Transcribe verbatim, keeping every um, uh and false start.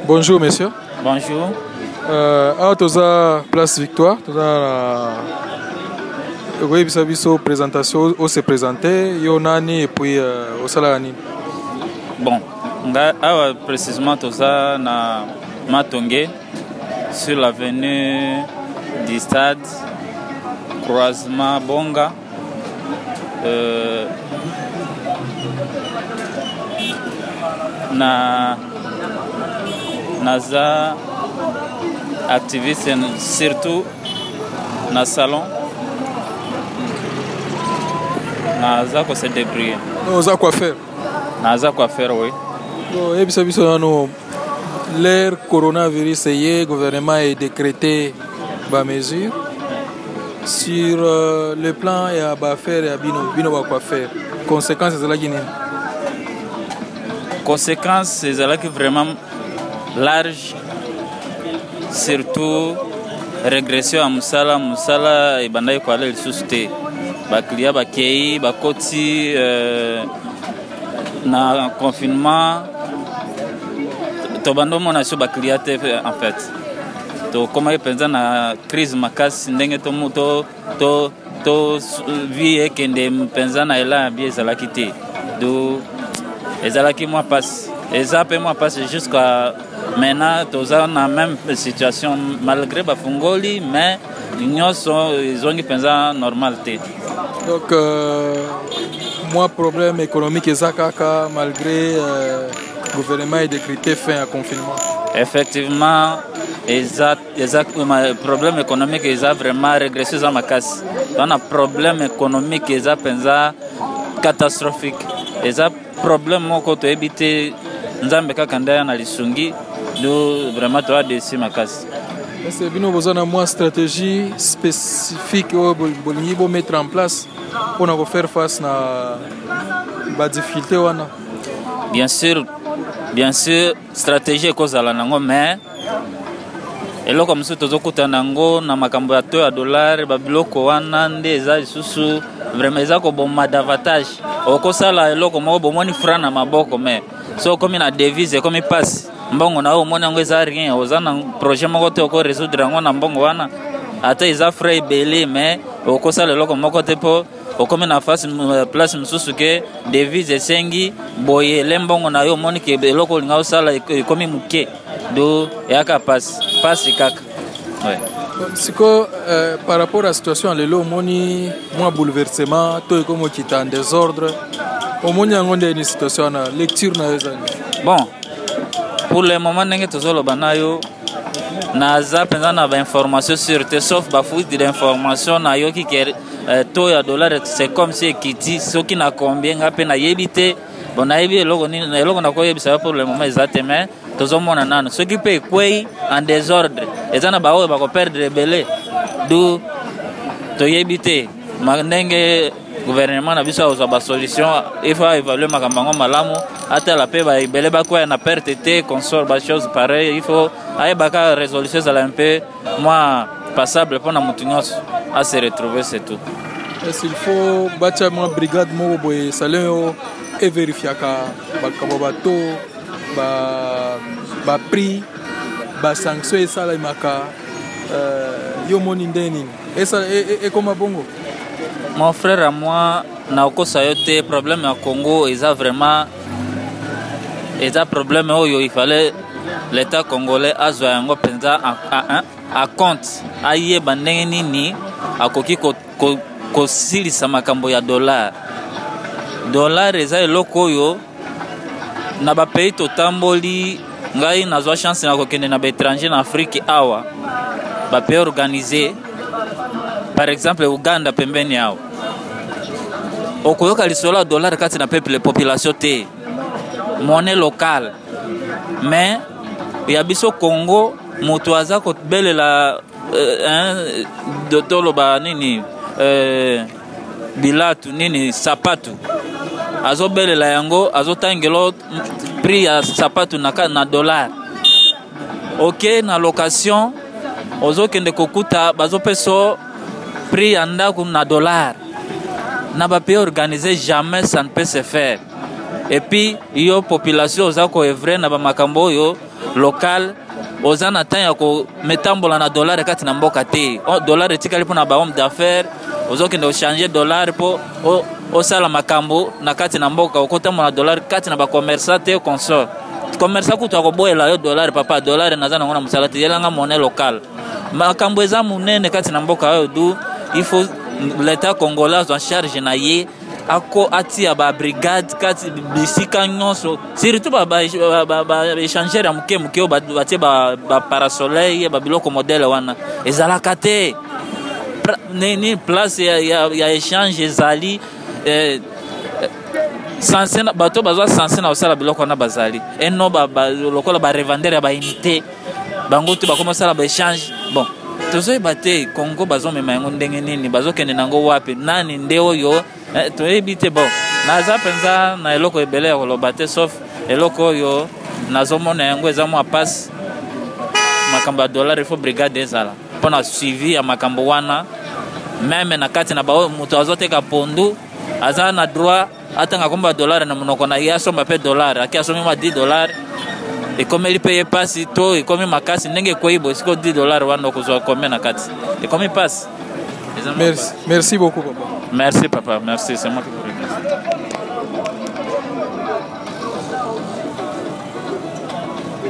Bonjour, monsieur. Bonjour. Euh, ah, toza place Victoire, toza la oui, bisa biso présentation où se présenter, yo nani et puis euh, au salani. Bon, nga awa précisément toza na Matongé sur l'avenue du stade croisement Bonga. Euh, na naza activiste surtout na salon naza ko se débrouiller. Oza quoi faire? Naza quoi faire, oui. Bon, et bisa biso nano l'ère coronavirus y gouvernement a décrété ba mesure sur euh, le plan et à ba faire et à bino bino ba quoi faire. Conséquences de la Guinée. Conséquences c'est là qui vraiment large, surtout régression à musala musala et bandai kwa le susté baklia bakei bakoti euh, na confinement to bando mona so baklia te en fait to comment pensa na crise makasi ndenge to moto to to vie kende pensa na ela bien ezala kité do ezala ki moi passe ezapé moi passe jusqu'à maintenant tous en la même situation malgré bafungoli mais l'union sont ils ont pensé normalité. Donc euh, moi problème économique ezakaka malgré euh, gouvernement a décrété fin à confinement. Effectivement exact exact problème économique ils a vraiment régressé dans ma casse. On a problème économique ils a pensé catastrophique. Ils a problème moko to éviter nzambe kaka ndaya na lisungi. Nous vraiment toi dessus ma casse. Est-ce que vous avez une stratégie spécifique que vous pouvez mettre en place pour faire face à la difficulté? Bien sûr, bien sûr, stratégie cause à la nango mais et là comme ça tous okuta nango na makambo ya to ya dollar babiloko wana ndeza isusu vraiment ezako bomma davantage okosala eloko moko bomoni franc na maboko mais so comme na devise comme passe mbongo na omona ngo eza rien ozana projet moko te ko résoudre ngo na mbongo wana ata eza frais belé mais okosala eloko moko te po okome na face place msusu ke devise sengi boye lembongo na yo moni ke eloko linga osala komi muke do yaka passe passe kaka ouais. Siko euh, par rapport à la situation lelo moni moi bouleversement to comme qui est en désordre au moni ngonde une situation na lecture na ezani. Bon pour le moment ndenge tozolo banayo naza penza na ba information sur te sauf ba fuite d'information na yo ki ke euh, to ya dollar c'est comme si kiti soki na combien ngape na yebite bon na yebi eloko ni eloko na ko yebisa pour le moment exactement tozomona nano soki pe kwei en désordre ezana ba o ba ko perdre belé do to yebite ndenge gouvernement na biso oza ba solution il faut évaluer makambango malamu ata la paix ba belé ba quoi na perte te consort ba chose pareil il faut ay baka résolution ça un peu moi passable pour na mutunyos à se retrouver c'est tout. Est-ce qu'il faut bâtir une brigade mo boy salon et vérifier ka ba kabato ba ba prix ba sanction et ça la maka euh yo moni ndeni et ça et comment bongo. Mon frère à moi na okosa yote problème à Congo ils a vraiment ils a problème oyo il fallait l'état congolais azwa yango penza à à compte aye bandenge nini akoki ko ko silisa makambo ya dollar dollar eza eloko oyo na ba pays totamboli ngai nazwa chance na kokende na étranger na Afrique awa ba pays organisé par exemple Uganda pembeni yao okoyoka lisola dollar kati na peuple population te monnaie locale mais ya biso Congo moto aza ko belela euh, dotolo ba nini euh, bilatu nini sapatu azo belela yango azo tangelo prix ya sapatu na na dollar OK na location ozo kende kokuta bazo peso prix anda na dollar na ba pays organisé jamais ça ne peut se faire et puis yo population oza koevre na bamakambo oyo local oza na temps ya kometambola na dollar kati na mboka te. Dollar etikali mpo na bahomme d'affaires ozokende ochange dollar mpo osala makambo na kati na mboka okotambola na dollar kati na bacommerçant te consort commerçant kutu akoboyela yo dollar papa dollar naza nango na mosala te yelanga monnaie locale makambo eza munene kati na mboka oyo du il faut l'état congolais en charge na ye ako atia ba brigade kati bisika nyonso surtout ba ba échangeur ya muke muke batie ba parasoleil ba biloko modèle wana ezalaka te ni place ya ya échange ezali eh sanse bato bazwa sanse na osala biloko na bazali eno ba lokola ba revendeur ya ba unité bango tu bakoma sala ba échange bon tozo ibate Congo bazo mema yango ndenge nini bazo kende nango wapi nani nde oyo to ebite bon naza penza na eloko ebele ya koloba te sauf eloko oyo nazomona yango eza mwa passe makambo ya dollar il faut brigade ezala mpona suivi ya makambo wana meme na kati na bao moto azoteka pondu aza na droit atanga komba dollar na monoko na ye asomba pe dollar aki asomi ma dix dollars ekomeli peye pasi to ekomi makasi ndenge koyibo siko dix dollars wana okozwa combien na kati ekomi pasi. Merci, merci beaucoup papa. Merci papa, merci, c'est moi qui